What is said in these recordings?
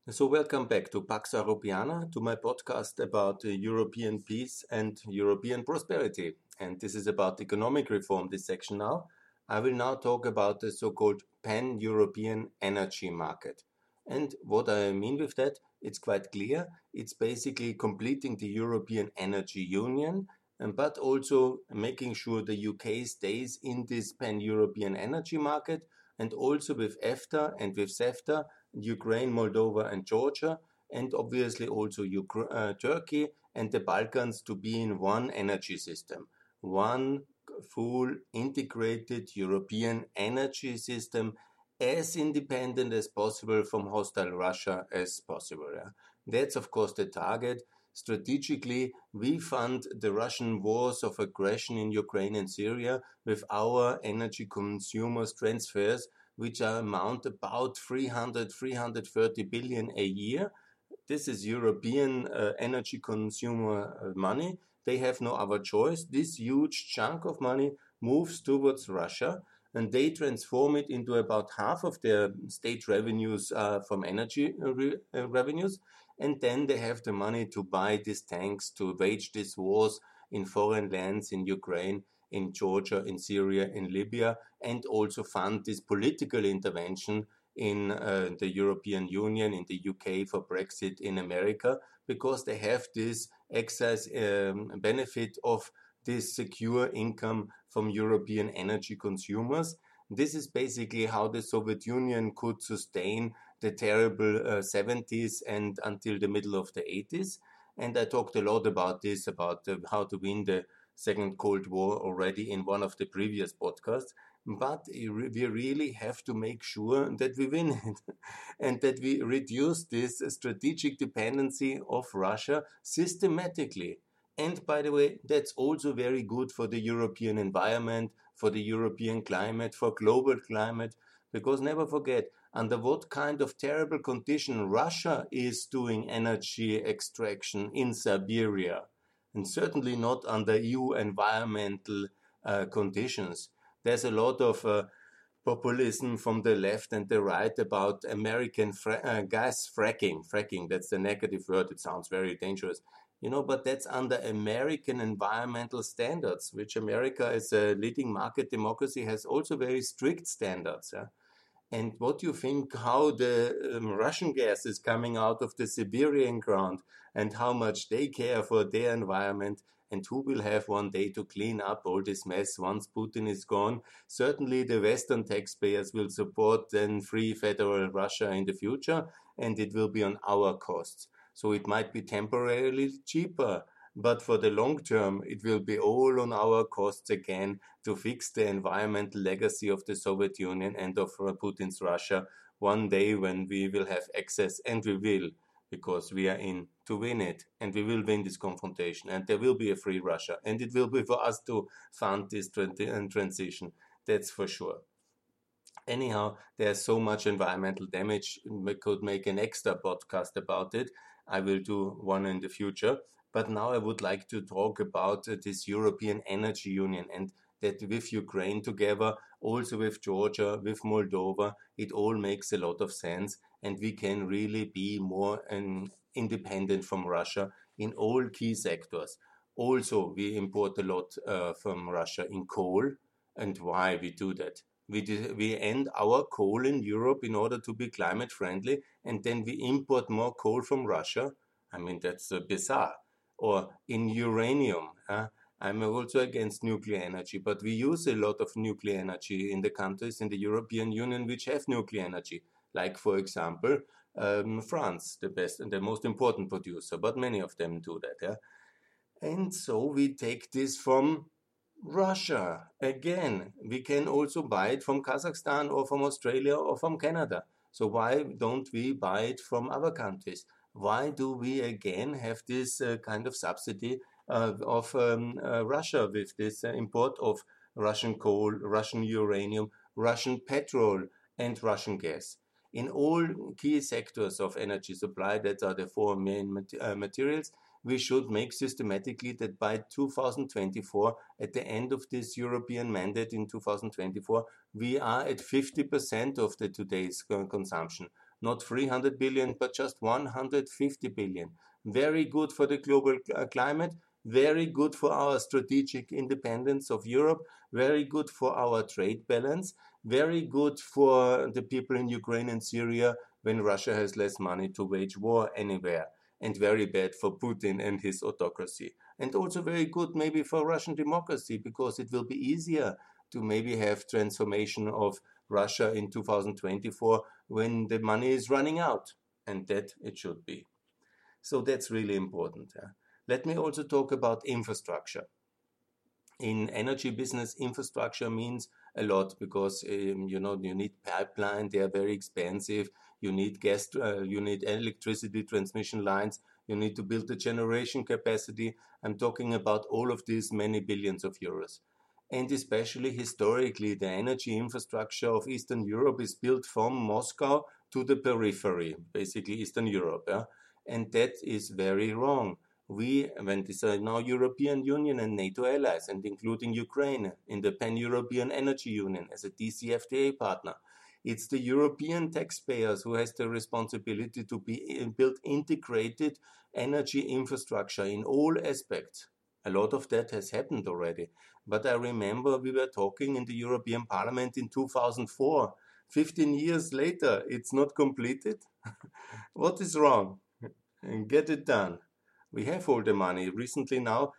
So welcome back to Pax Europiana, to my podcast about European peace and European prosperity. And this is about economic reform, this section now. I will now talk about the so-called pan-European energy market. And what I mean with that, it's quite clear. It's basically completing the European Energy Union, but also making sure the UK stays in this pan-European energy market, and also with EFTA and with CEFTA, Ukraine, Moldova, and Georgia, and obviously also Turkey and the Balkans to be in one energy system, one full integrated European energy system, as independent as possible from hostile Russia as possible. Yeah. That's, of course, the target. Strategically, we fund the Russian wars of aggression in Ukraine and Syria with our energy consumers transfers, which are amount about 330 billion a year. This is European energy consumer money. They have no other choice. This huge chunk of money moves towards Russia, and they transform it into about half of their state revenues from energy revenues, and then they have the money to buy these tanks, to wage these wars in foreign lands, in Ukraine, in Georgia, in Syria, in Libya, and also fund this political intervention in the European Union, in the UK for Brexit, in America, because they have this excess benefit of this secure income from European energy consumers. This is basically how the Soviet Union could sustain the terrible 70s and until the middle of the 80s. And I talked a lot about this, about how to win the Second Cold War already in one of the previous podcasts. But we really have to make sure that we win it and that we reduce this strategic dependency of Russia systematically. And by the way, that's also very good for the European environment, for the European climate, for global climate, because never forget, under what kind of terrible condition Russia is doing energy extraction in Siberia, and certainly not under EU environmental conditions. There's a lot of populism from the left and the right about American gas fracking. Fracking, that's the negative word. It sounds very dangerous. But that's under American environmental standards, which America, as a leading market democracy, has also very strict standards. Yeah? And what do you think how the Russian gas is coming out of the Siberian ground and how much they care for their environment and who will have one day to clean up all this mess once Putin is gone? Certainly the Western taxpayers will support then free federal Russia in the future, and it will be on our costs. So it might be temporarily cheaper, but for the long term, it will be all on our costs again to fix the environmental legacy of the Soviet Union and of Putin's Russia one day when we will have access, and we will, because we are in to win it, and we will win this confrontation, and there will be a free Russia, and it will be for us to fund this transition, that's for sure. Anyhow, there's so much environmental damage, we could make an extra podcast about it. I will do one in the future. But now I would like to talk about this European Energy Union, and that with Ukraine together, also with Georgia, with Moldova, it all makes a lot of sense, and we can really be more independent from Russia in all key sectors. Also, we import a lot from Russia in coal, and why we do that? We end our coal in Europe in order to be climate friendly, and then we import more coal from Russia. I mean, that's bizarre. Or in uranium. I'm also against nuclear energy, but we use a lot of nuclear energy in the countries in the European Union which have nuclear energy, like, for example, France, the best and the most important producer, but many of them do that. Yeah? And so we take this from Russia. Again, we can also buy it from Kazakhstan or from Australia or from Canada. So why don't we buy it from other countries? Why do we again have this kind of subsidy of Russia with this import of Russian coal, Russian uranium, Russian petrol, and Russian gas? In all key sectors of energy supply, that are the four main materials, we should make systematically that by 2024, at the end of this European mandate in 2024, we are at 50% of the today's consumption. not 300 billion, but just 150 billion. Very good for the global climate, very good for our strategic independence of Europe, very good for our trade balance, very good for the people in Ukraine and Syria when Russia has less money to wage war anywhere, and very bad for Putin and his autocracy. And also very good maybe for Russian democracy, because it will be easier to maybe have transformation of Russia in 2024 when the money is running out, and that it should be. So that's really important. Let me also talk about infrastructure. In energy business, infrastructure means a lot because you need pipeline, they are very expensive. You need gas, you need electricity transmission lines. You need to build the generation capacity. I'm talking about all of these many billions of euros. And especially historically, the energy infrastructure of Eastern Europe is built from Moscow to the periphery, basically Eastern Europe. Yeah? And that is very wrong. We, when these are now European Union and NATO allies, and including Ukraine in the Pan-European Energy Union as a DCFTA partner, it's the European taxpayers who has the responsibility to build integrated energy infrastructure in all aspects. A lot of that has happened already. But I remember we were talking in the European Parliament in 2004. 15 years later, it's not completed. What is wrong? Get it done. We have all the money. Recently now,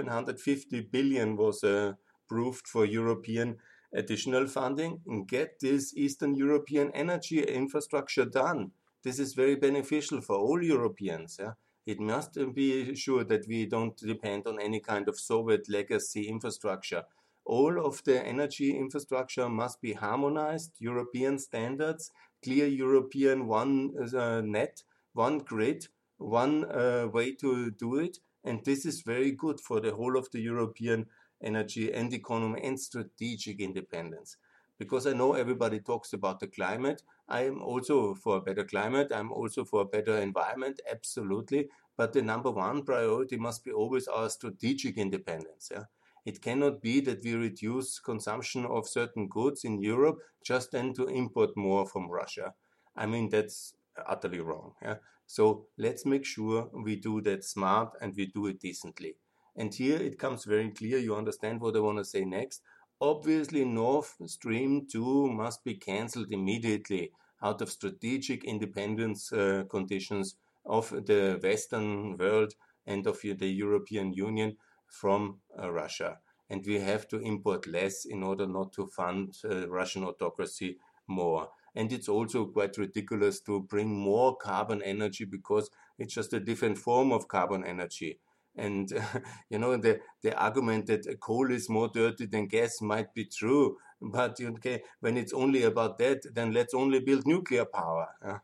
750 billion was approved for European additional funding. And get this Eastern European energy infrastructure done. This is very beneficial for all Europeans. Yeah? It must be sure that we don't depend on any kind of Soviet legacy infrastructure. All of the energy infrastructure must be harmonized, European standards, clear European one net, one grid, one way to do it, and this is very good for the whole of the European energy and economy and strategic independence. Because I know everybody talks about the climate. I am also for a better climate. I'm also for a better environment, absolutely. But the number one priority must be always our strategic independence. Yeah? It cannot be that we reduce consumption of certain goods in Europe just then to import more from Russia. I mean, that's utterly wrong. Yeah? So let's make sure we do that smart and we do it decently. And here it comes very clear, you understand what I want to say next. Obviously, Nord Stream 2 must be cancelled immediately out of strategic independence conditions of the Western world and of the European Union from Russia. And we have to import less in order not to fund Russian autocracy more. And it's also quite ridiculous to bring more carbon energy because it's just a different form of carbon energy. And the argument that coal is more dirty than gas might be true, but when it's only about that, then let's only build nuclear power.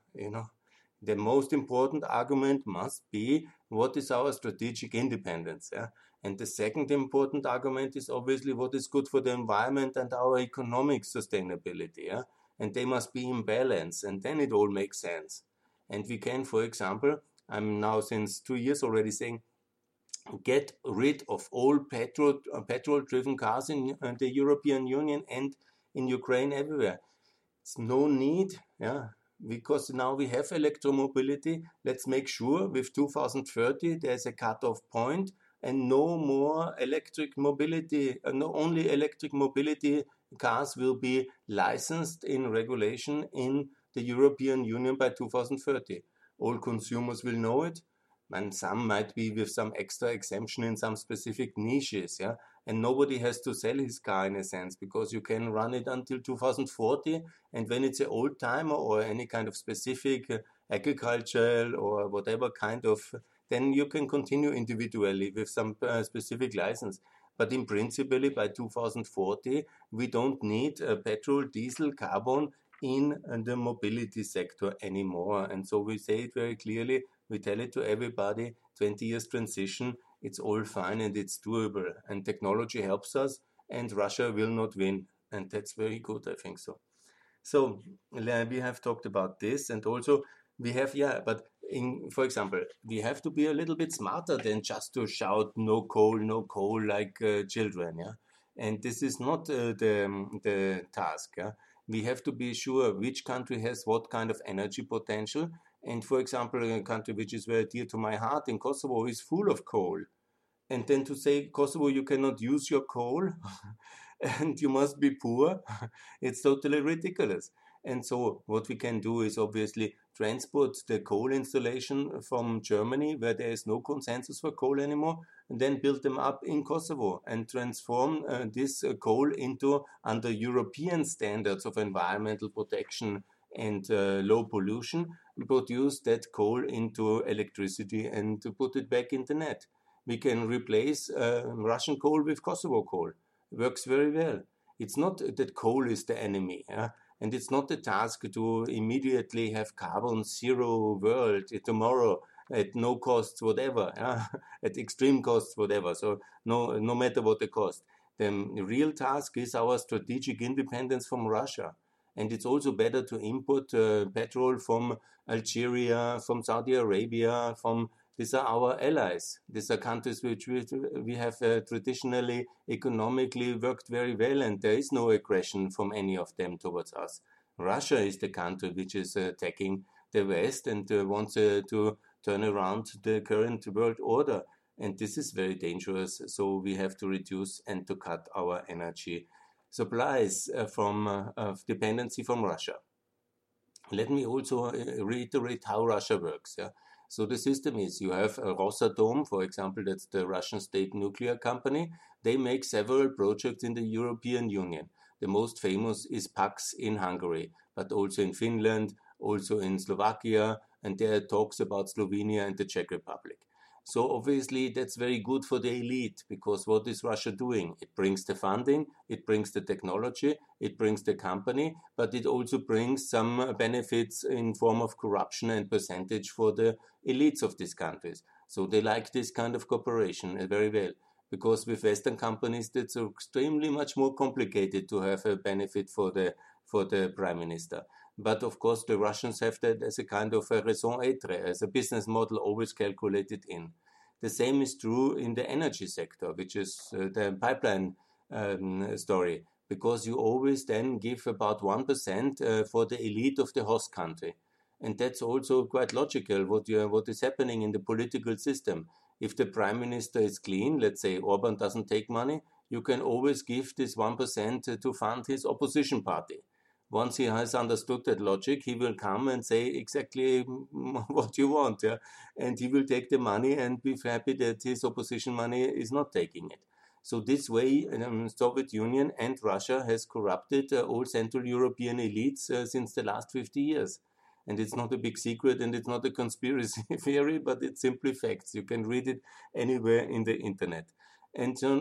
The most important argument must be what is our strategic independence. And the second important argument is obviously what is good for the environment and our economic sustainability. And they must be in balance, and then it all makes sense. And we can, for example, I'm now since 2 years already saying, get rid of all petrol-driven cars in the European Union and in Ukraine everywhere. It's no need, because now we have electromobility. Let's make sure with 2030 there's a cutoff point and no more electric mobility, only electric mobility cars will be licensed in regulation in the European Union by 2030. All consumers will know it, and some might be with some extra exemption in some specific niches, and nobody has to sell his car in a sense, because you can run it until 2040, and when it's an old timer or any kind of specific agricultural or whatever kind of, then you can continue individually with some specific license. But in principle, by 2040, we don't need petrol, diesel, carbon in the mobility sector anymore. And so we say it very clearly, we tell it to everybody, 20 years transition, it's all fine and it's doable. And technology helps us, and Russia will not win. And that's very good, I think so. So we have talked about this, and also we have, for example, we have to be a little bit smarter than just to shout no coal like children, And this is not the task, we have to be sure which country has what kind of energy potential. And for example, a country which is very dear to my heart in Kosovo is full of coal. And then to say, Kosovo, you cannot use your coal and you must be poor, it's totally ridiculous. And so what we can do is obviously transport the coal installation from Germany, where there is no consensus for coal anymore, and then build them up in Kosovo and transform this coal into, under European standards of environmental protection and low pollution, produce that coal into electricity and to put it back in the net. We can replace Russian coal with Kosovo coal. Works very well. It's not that coal is the enemy, and it's not the task to immediately have carbon zero world tomorrow at no costs whatever, at extreme costs whatever. So no matter what the cost. The real task is our strategic independence from Russia. And it's also better to import petrol from Algeria, from Saudi Arabia, these are our allies. These are countries which we have traditionally, economically worked very well, and there is no aggression from any of them towards us. Russia is the country which is attacking the West and wants to turn around the current world order. And this is very dangerous. So we have to reduce and to cut our energy supplies from dependency from Russia. Let me also reiterate how Russia works. Yeah? So the system is, you have Rosatom, for example, that's the Russian state nuclear company. They make several projects in the European Union. The most famous is PAX in Hungary, but also in Finland, also in Slovakia, and there are talks about Slovenia and the Czech Republic. So obviously that's very good for the elite, because what is Russia doing? It brings the funding, it brings the technology, it brings the company, but it also brings some benefits in form of corruption and percentage for the elites of these countries. So they like this kind of cooperation very well, because with Western companies that's extremely much more complicated to have a benefit for the prime minister. But of course, the Russians have that as a kind of a raison d'être, as a business model always calculated in. The same is true in the energy sector, which is the pipeline story, because you always then give about 1% for the elite of the host country. And that's also quite logical, what is happening in the political system. If the prime minister is clean, let's say Orban doesn't take money, you can always give this 1% to fund his opposition party. Once he has understood that logic, he will come and say exactly what you want, yeah? And he will take the money and be happy that his opposition money is not taking it. So this way, Soviet Union and Russia has corrupted all Central European elites since the last 50 years. And it's not a big secret, and it's not a conspiracy theory, but it's simply facts. You can read it anywhere in the internet. And so,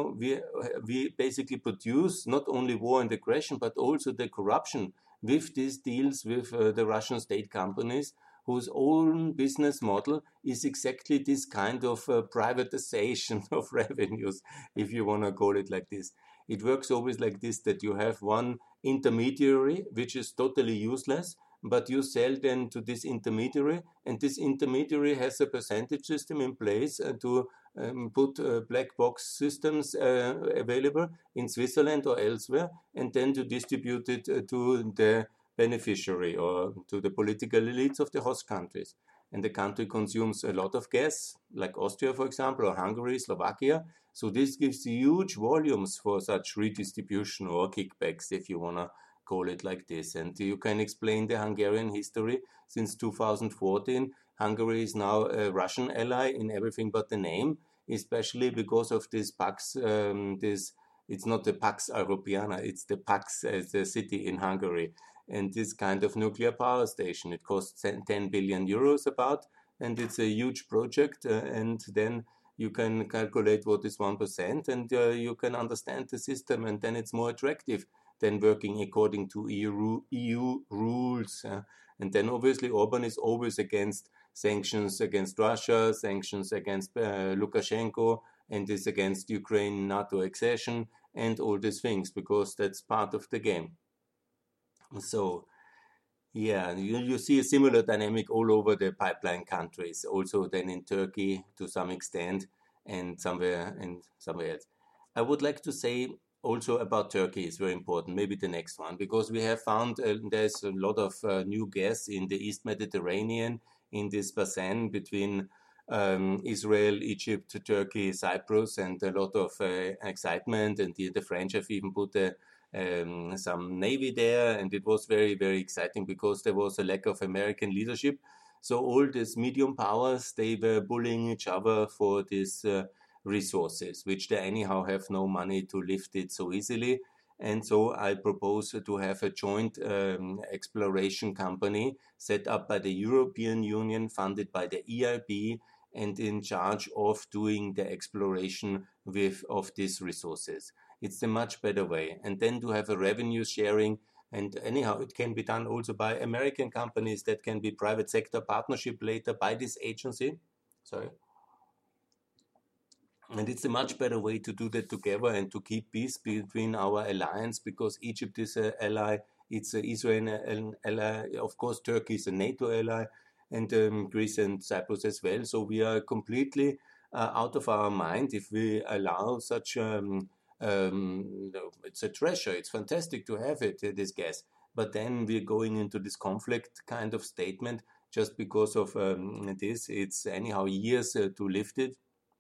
we basically produce not only war and aggression, but also the corruption with these deals with the Russian state companies, whose own business model is exactly this kind of privatization of revenues, if you want to call it like this. It works always like this, that you have one intermediary, which is totally useless, but you sell then to this intermediary, and this intermediary has a percentage system in place to put black box systems available in Switzerland or elsewhere, and then to distribute it to the beneficiary or to the political elites of the host countries. And the country consumes a lot of gas, like Austria, for example, or Hungary, Slovakia. So this gives huge volumes for such redistribution or kickbacks, if you want to call it like this. And you can explain the Hungarian history. Since 2014, Hungary is now a Russian ally in everything but the name, especially because of this PAX, it's not the Pax Europiana, it's the PAX as a city in Hungary. And this kind of nuclear power station, it costs 10 billion euros about, and it's a huge project. And then you can calculate what is 1%, and you can understand the system, and then it's more attractive than working according to EU rules. And then obviously Orban is always against sanctions against Russia, sanctions against Lukashenko, and is against Ukraine NATO accession and all these things, because that's part of the game. So, yeah, you see a similar dynamic all over the pipeline countries, also then in Turkey to some extent, and somewhere else. I would like to say also about Turkey is very important, maybe the next one, because we have found there's a lot of new gas in the East Mediterranean, in this basin between Israel, Egypt, Turkey, Cyprus, and a lot of excitement. And the French have even put some navy there, and it was very, very exciting because there was a lack of American leadership. So all these medium powers, they were bullying each other for these resources, which they anyhow have no money to lift it so easily. And so I propose to have a joint exploration company set up by the European Union, funded by the EIB, and in charge of doing the exploration of these resources. It's a much better way. And then to have a revenue sharing. And anyhow, it can be done also by American companies. That can be private sector partnership later by this agency. Sorry. And it's a much better way to do that together and to keep peace between our alliance, because Egypt is an ally, it's Israel an ally, of course Turkey is a NATO ally, and Greece and Cyprus as well. So we are completely out of our mind if we allow such it's a treasure. It's fantastic to have it, this gas. But then we're going into this conflict kind of statement just because of this. It's anyhow years to lift it.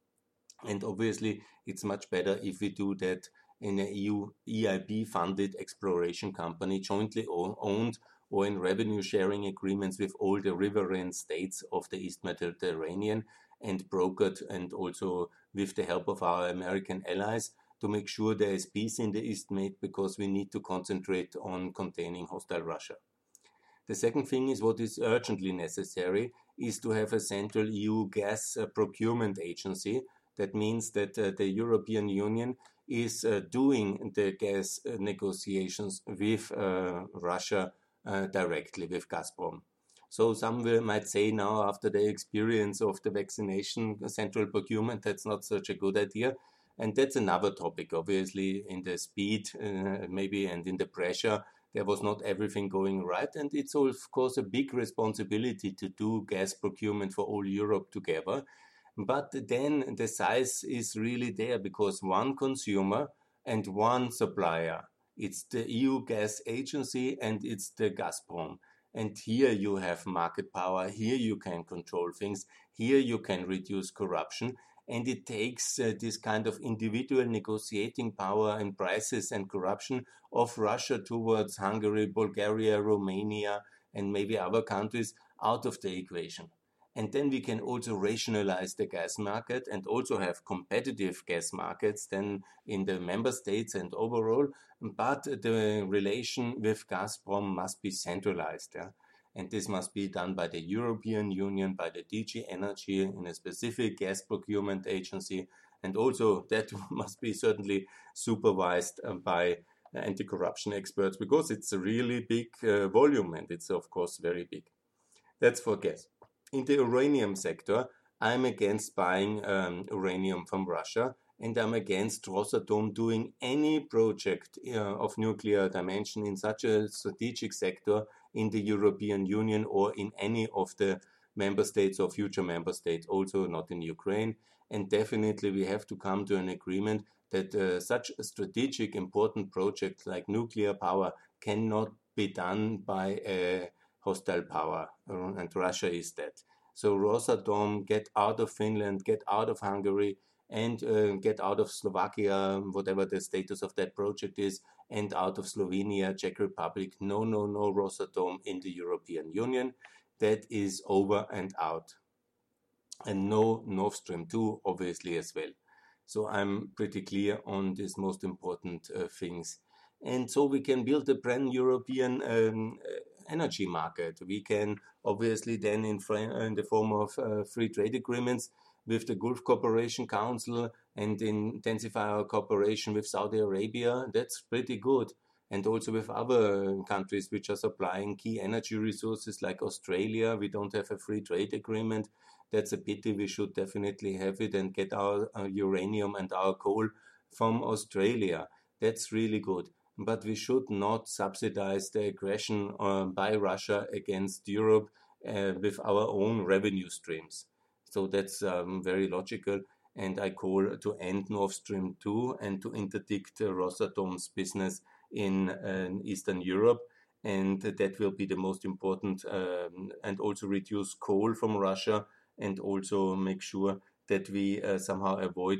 And obviously, it's much better if we do that in an EU EIB funded exploration company, jointly owned, or in revenue sharing agreements with all the riverine states of the East Mediterranean, and brokered, and also with the help of our American allies, to make sure there is peace in the East Med, because we need to concentrate on containing hostile Russia. The second thing is, what is urgently necessary is to have a central EU gas procurement agency. That means that the European Union is doing the gas negotiations with Russia directly, with Gazprom. So some might say now, after the experience of the vaccination central procurement, that's not such a good idea. And that's another topic, obviously, in the speed maybe, and in the pressure. There was not everything going right. And it's, of course, a big responsibility to do gas procurement for all Europe together. But then the size is really there, because one consumer and one supplier. It's the EU gas agency and it's the Gazprom. And here you have market power. Here you can control things. Here you can reduce corruption. And it takes this kind of individual negotiating power and prices and corruption of Russia towards Hungary, Bulgaria, Romania, and maybe other countries out of the equation. And then we can also rationalize the gas market and also have competitive gas markets then in the member states and overall. But the relation with Gazprom must be centralized. Yeah? And this must be done by the European Union, by the DG Energy, in a specific gas procurement agency. And also that must be certainly supervised by anti-corruption experts, because it's a really big volume, and it's of course very big. That's for gas. In the uranium sector, I'm against buying uranium from Russia, and I'm against Rosatom doing any project of nuclear dimension in such a strategic sector in the European Union or in any of the member states or future member states, also not in Ukraine. And definitely we have to come to an agreement that such a strategic important project like nuclear power cannot be done by a hostile power, and Russia is that. So Rosatom, get out of Finland, get out of Hungary, and get out of Slovakia, whatever the status of that project is, and out of Slovenia, Czech Republic. No Rosatom in the European Union. That is over and out. And no Nord Stream 2, obviously, as well. So I'm pretty clear on these most important things. And so we can build a brand European energy market. We can obviously then in the form of free trade agreements with the Gulf Cooperation Council and intensify our cooperation with Saudi Arabia. That's pretty good. And also with other countries which are supplying key energy resources like Australia. We don't have a free trade agreement. That's a pity. We should definitely have it and get our uranium and our coal from Australia. That's really good. But we should not subsidize the aggression by Russia against Europe with our own revenue streams. So that's very logical. and I call to end Nord Stream 2 and to interdict Rosatom's business in Eastern Europe. And that will be the most important, and also reduce coal from Russia, and also make sure that we somehow avoid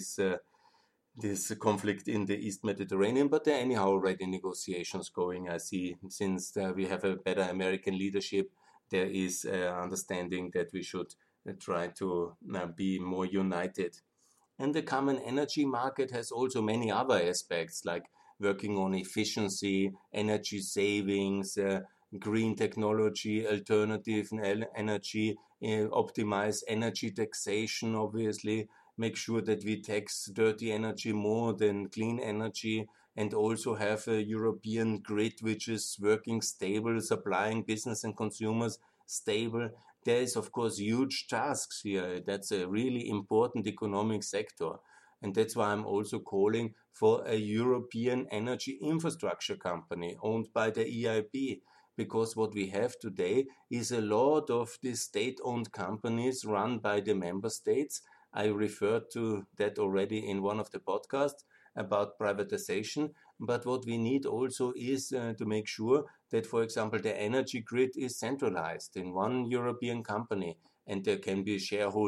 this conflict in the East Mediterranean. But there are anyhow already negotiations going. I see since we have a better American leadership, there is understanding that we should try to be more united. And the common energy market has also many other aspects, like working on efficiency, energy savings, green technology, alternative energy, optimize energy taxation, obviously, make sure that we tax dirty energy more than clean energy, and also have a European grid which is working stable, supplying business and consumers stable. There is, of course, huge tasks here. That's a really important economic sector. And that's why I'm also calling for a European energy infrastructure company owned by the EIB. Because what we have today is a lot of these state-owned companies run by the member states. I referred to that already in one of the podcasts about privatization. But what we need also is to make sure that, for example, the energy grid is centralized in one European company, and there can be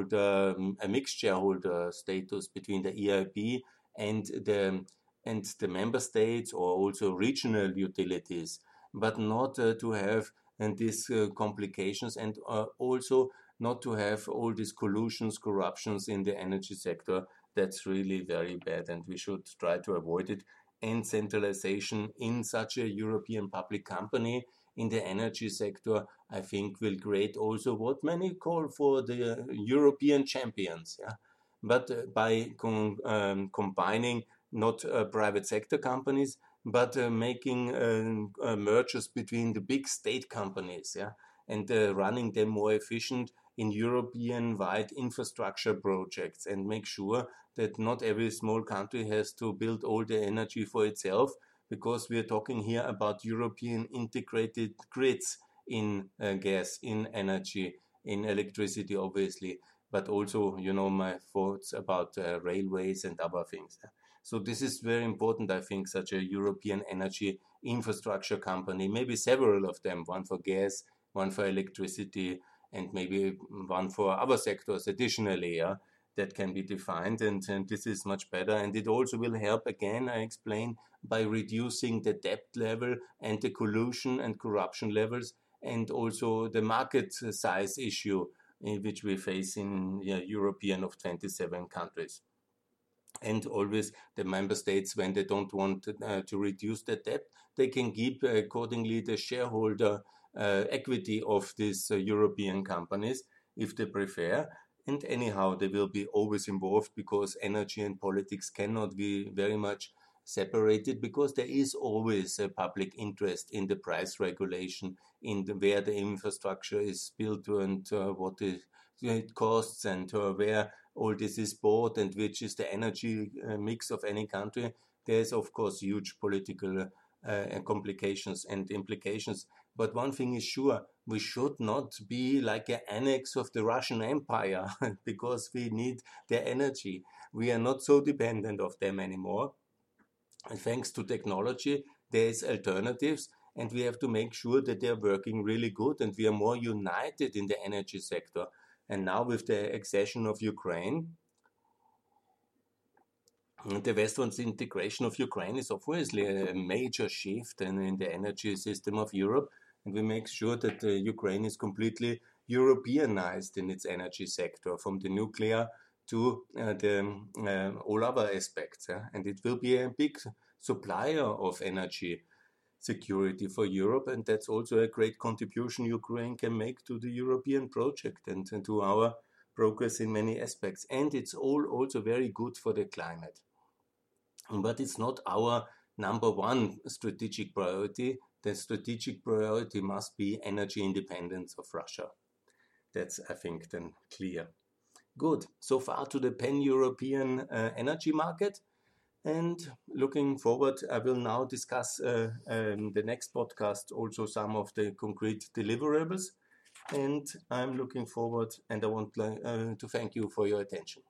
a mixed shareholder status between the EIB and the member states, or also regional utilities, but not to have these complications, and also not to have all these collusions, corruptions in the energy sector. That's really very bad, and we should try to avoid it. And centralization in such a European public company in the energy sector, I think, will create also what many call for the European champions. Yeah? But by combining not private sector companies, but making mergers between the big state companies, yeah, and running them more efficient in European-wide infrastructure projects, and make sure that not every small country has to build all the energy for itself, because we are talking here about European integrated grids in gas, in energy, in electricity, obviously, but also, my thoughts about railways and other things. So this is very important, I think, such a European energy infrastructure company, maybe several of them, one for gas, one for electricity, and maybe one for other sectors additionally, yeah, that can be defined, and this is much better. And it also will help, again, I explain, by reducing the debt level and the collusion and corruption levels, and also the market size issue which we face in European of 27 countries. And always the member states, when they don't want to reduce the debt, they can keep accordingly the shareholder equity of these European companies if they prefer. And anyhow, they will be always involved, because energy and politics cannot be very much separated, because there is always a public interest in the price regulation, in where the infrastructure is built, and what it costs, and where all this is bought, and which is the energy mix of any country. There's, of course, huge political complications and implications. But one thing is sure, we should not be like an annex of the Russian Empire because we need their energy. We are not so dependent of them anymore. And thanks to technology, there is alternatives, and we have to make sure that they are working really good, and we are more united in the energy sector. And now with the accession of Ukraine, the Western integration of Ukraine is obviously a major shift in the energy system of Europe, and we make sure that Ukraine is completely Europeanized in its energy sector, from the nuclear to all other aspects. And it will be a big supplier of energy security for Europe, and that's also a great contribution Ukraine can make to the European project and to our progress in many aspects. And it's also very good for the climate. But it's not our number one strategic priority. The strategic priority must be energy independence of Russia. That's, I think, then clear. Good. So far to the pan-European energy market. And looking forward, I will now discuss the next podcast also some of the concrete deliverables. And I'm looking forward, and I want to thank you for your attention.